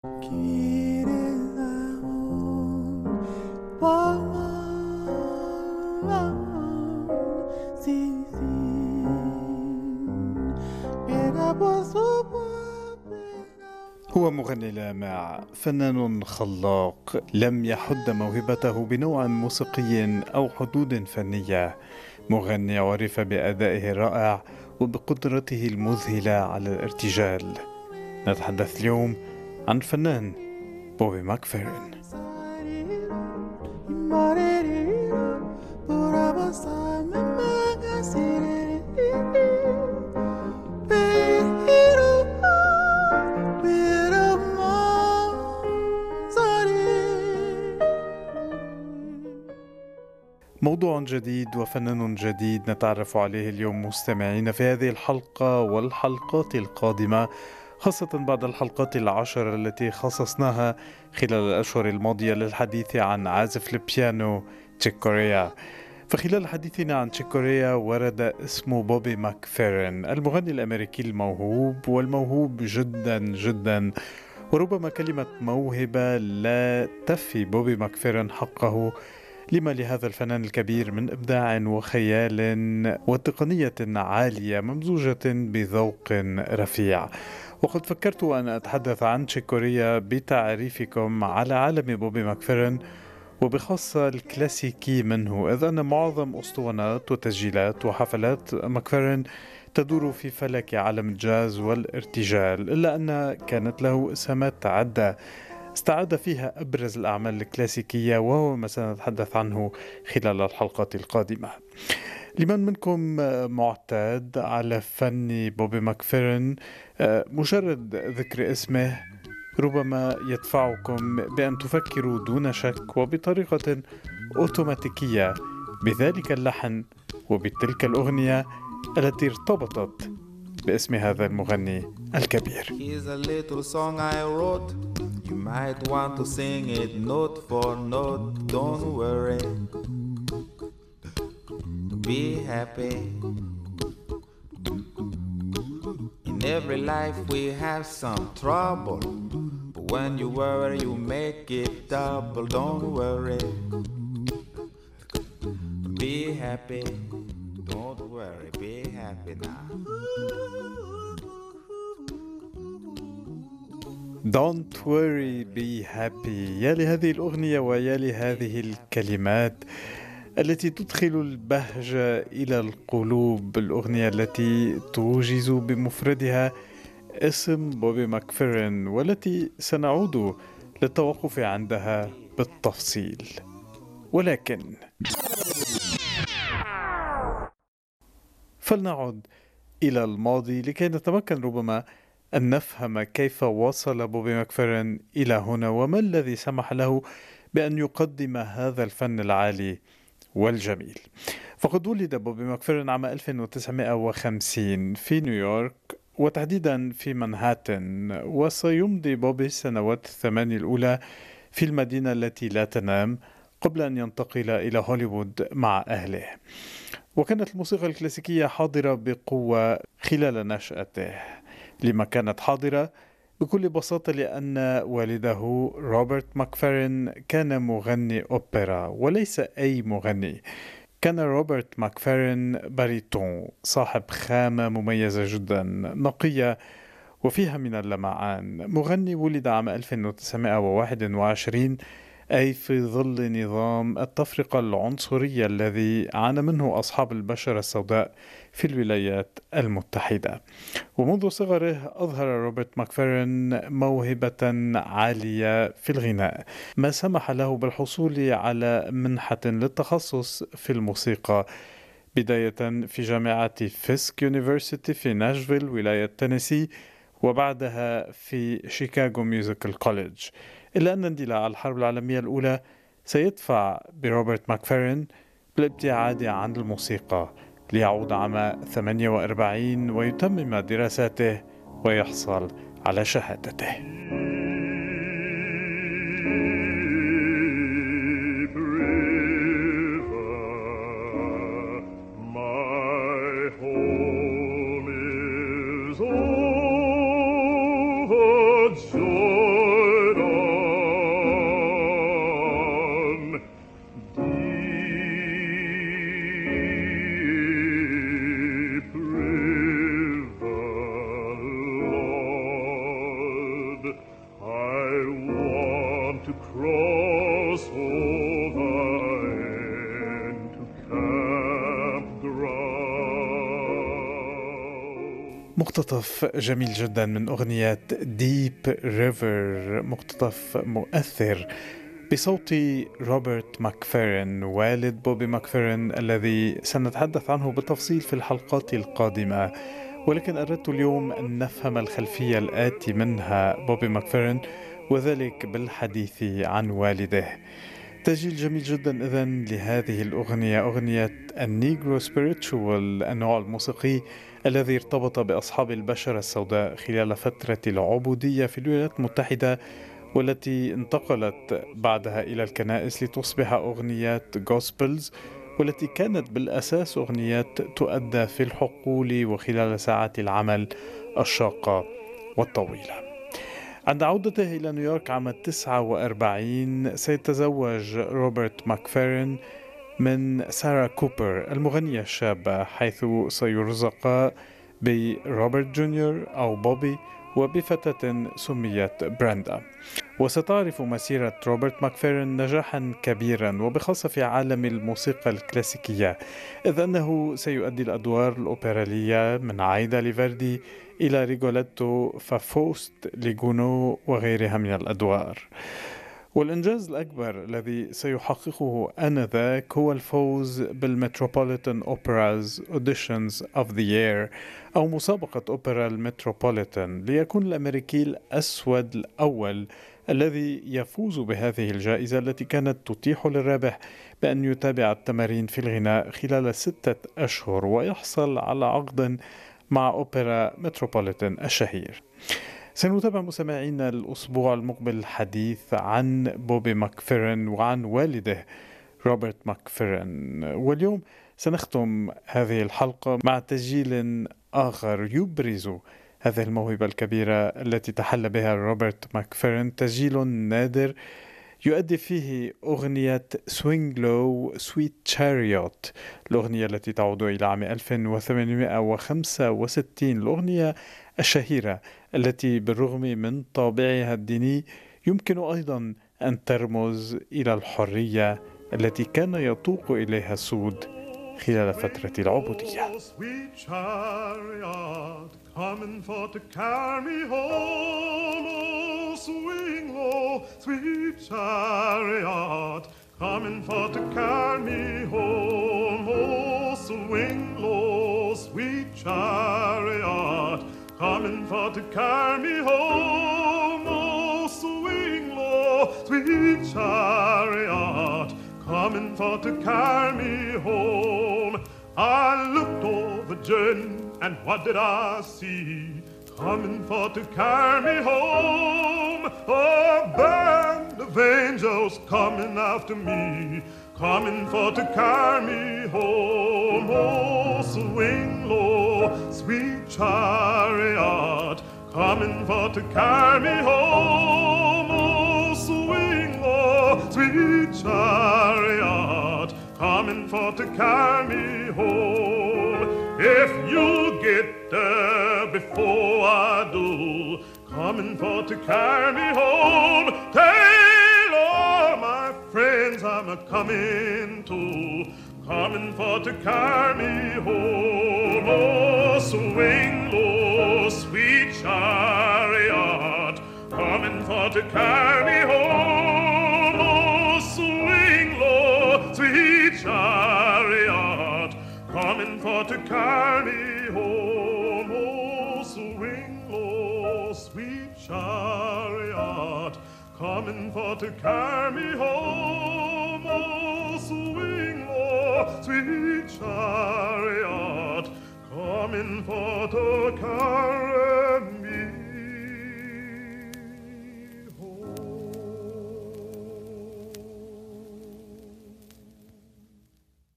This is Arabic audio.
هو مغني لامع، فنان خلاق، لم يحد موهبته بنوع موسيقي أو حدود فنية. مغني عرف بأدائه الرائع وبقدرته المذهلة على الارتجال. نتحدث اليوم عن الفنان بوبي ماكفيرين. موضوع جديد وفنان جديد نتعرف عليه اليوم مستمعين في هذه الحلقة والحلقات القادمة، خاصة بعد الحلقات 10 التي خصصناها خلال الأشهر الماضية للحديث عن عازف البيانو تشيك كوريا. فخلال حديثنا عن تشيك كوريا ورد اسم بوبي ماكفيرين، المغني الأمريكي الموهوب والموهوب جدا جدا. وربما كلمة موهبة لا تفي بوبي ماكفيرين حقه لما لهذا الفنان الكبير من إبداع وخيال وتقنية عالية ممزوجة بذوق رفيع. وقد فكرت أن أتحدث عن تشيك كوريا بتعريفكم على عالم بوبي ماكفيرين وبخاصة الكلاسيكي منه، إذ أن معظم أسطوانات وتسجيلات وحفلات ماكفيرين تدور في فلك عالم الجاز والارتجال، إلا أن كانت له إسهامات عدة استعاد فيها أبرز الأعمال الكلاسيكية، وهو ما سنتحدث عنه خلال الحلقات القادمة. لمن منكم معتاد على فن بوبي ماكفيرين، مجرد ذكر اسمه ربما يدفعكم بأن تفكروا دون شك وبطريقة أوتوماتيكية بذلك اللحن وبتلك الأغنية التي ارتبطت باسم هذا المغني الكبير. Here's a little song I wrote. You might want to sing it note for note. Don't worry. Be happy. In every life we have some trouble. But when you worry, you make it double. Don't worry. Be happy. Don't worry. Be happy now. Don't worry, be happy. يا لهذه الأغنية ويا لهذه الكلمات التي تدخل البهجة إلى القلوب، الأغنية التي توجز بمفردها اسم بوبي ماكفيرين والتي سنعود للتوقف عندها بالتفصيل. ولكن فلنعد إلى الماضي لكي نتمكن ربما أن نفهم كيف وصل بوبي ماكفيرين إلى هنا وما الذي سمح له بأن يقدم هذا الفن العالي والجميل. فقد ولد بوبي ماكفيرين عام 1950 في نيويورك وتحديدا في منهاتن، وسيمضي بوبي السنوات 8 الأولى في المدينة التي لا تنام قبل أن ينتقل إلى هوليوود مع أهله. وكانت الموسيقى الكلاسيكية حاضرة بقوة خلال نشأته. لما كانت حاضرة؟ بكل بساطة لأن والده روبرت ماكفيرين كان مغني أوبرا، وليس أي مغني. كان روبرت ماكفيرين باريتون، صاحب خامة مميزة جدا نقية وفيها من اللمعان. مغني ولد عام 1921، أي في ظل نظام التفرقة العنصرية الذي عانى منه أصحاب البشرة السوداء في الولايات المتحدة. ومنذ صغره أظهر روبرت ماكفيرين موهبة عالية في الغناء، ما سمح له بالحصول على منحة للتخصص في الموسيقى، بداية في جامعة فيسك يونيفرسيتي في ناشفيل ولاية تينيسي، وبعدها في شيكاغو ميوزيكال كوليدج. إلا أن اندلاع الحرب العالمية الأولى سيدفع بروبرت ماكفيرين بالابتعاد عن الموسيقى ليعود عام 48 ويتمم دراساته ويحصل على شهادته. to cross over and to campground. مقتطف جميل جدا من أغنية ديب ريفر، مقتطف مؤثر بصوت روبرت ماكفيرن والد بوبي ماكفيرن الذي سنتحدث عنه بالتفصيل في الحلقات القادمة، ولكن أردت اليوم أن نفهم الخلفية الآتي منها بوبي ماكفيرن، وذلك بالحديث عن والده. تسجيل جميل جدا إذن لهذه الأغنية، أغنية النيغرو سبيريتشوال، النوع الموسيقي الذي ارتبط بأصحاب البشرة السوداء خلال فترة العبودية في الولايات المتحدة، والتي انتقلت بعدها إلى الكنائس لتصبح أغنيات غوسبلز، والتي كانت بالأساس أغنيات تؤدى في الحقول وخلال ساعات العمل الشاقة والطويلة. عند عودته إلى نيويورك عام 49 سيتزوج روبرت ماكفيرن من سارة كوبر المغنية الشابة، حيث سيرزق بروبرت جونيور أو بوبي وبفتاة سميت بريندا. وستعرف مسيرة روبرت ماكفيرن نجاحا كبيرا وبخاصة في عالم الموسيقى الكلاسيكية، إذ أنه سيؤدي الأدوار الأوبرالية من عايدا ليفردي إلى ريغوليتو فافوست ليغونو وغيرها من الأدوار. والإنجاز الأكبر الذي سيحققه آنذاك هو الفوز بالمتروبوليتان أوبراز أوديشنز أوف ذا يير، أو مسابقة أوبرا المتروبوليتان، ليكون الأمريكي الأسود الأول الذي يفوز بهذه الجائزة التي كانت تتيح للرابح بأن يتابع التمارين في الغناء خلال 6 أشهر ويحصل على عقد مع أوبرا متروبوليتان الشهير. سنتابع مستمعينا الأسبوع المقبل الحديث عن بوبي ماكفيرن وعن والده روبرت ماكفيرن، واليوم سنختم هذه الحلقة مع تسجيل آخر يبرز هذه الموهبة الكبيرة التي تحلى بها روبرت ماكفيرن، تسجيل نادر يؤدي فيه أغنية Swing Low Sweet Chariot، الأغنية التي تعود إلى عام 1865، الأغنية الشهيرة التي بالرغم من طابعها الديني يمكن أيضا أن ترمز إلى الحرية التي كان يتوق إليها السود خلال فترة العبودية. Coming for to carry me home, oh, swing low, sweet chariot. Coming for to carry me home, oh, swing low, sweet chariot. Coming for to carry me home, oh, swing low, sweet chariot. Coming for to carry me home. I looked over Jordan, and what did I see? Coming for to carry me home, a band of angels coming after me, coming for to carry me home. Oh, swing low, sweet chariot, coming for to carry me home. Oh, swing low, sweet chariot, coming for to carry me home. If you get there before I do, coming for to carry me home, tell all my friends I'm a-coming too, coming for to carry me home. Oh, swing low, sweet chariot, coming for to carry me home. Oh, swing low, sweet chariot, coming for to carry me home. Oh, swing low, sweet chariot, coming for to carry me home. Oh, swing low, sweet chariot, coming for to carry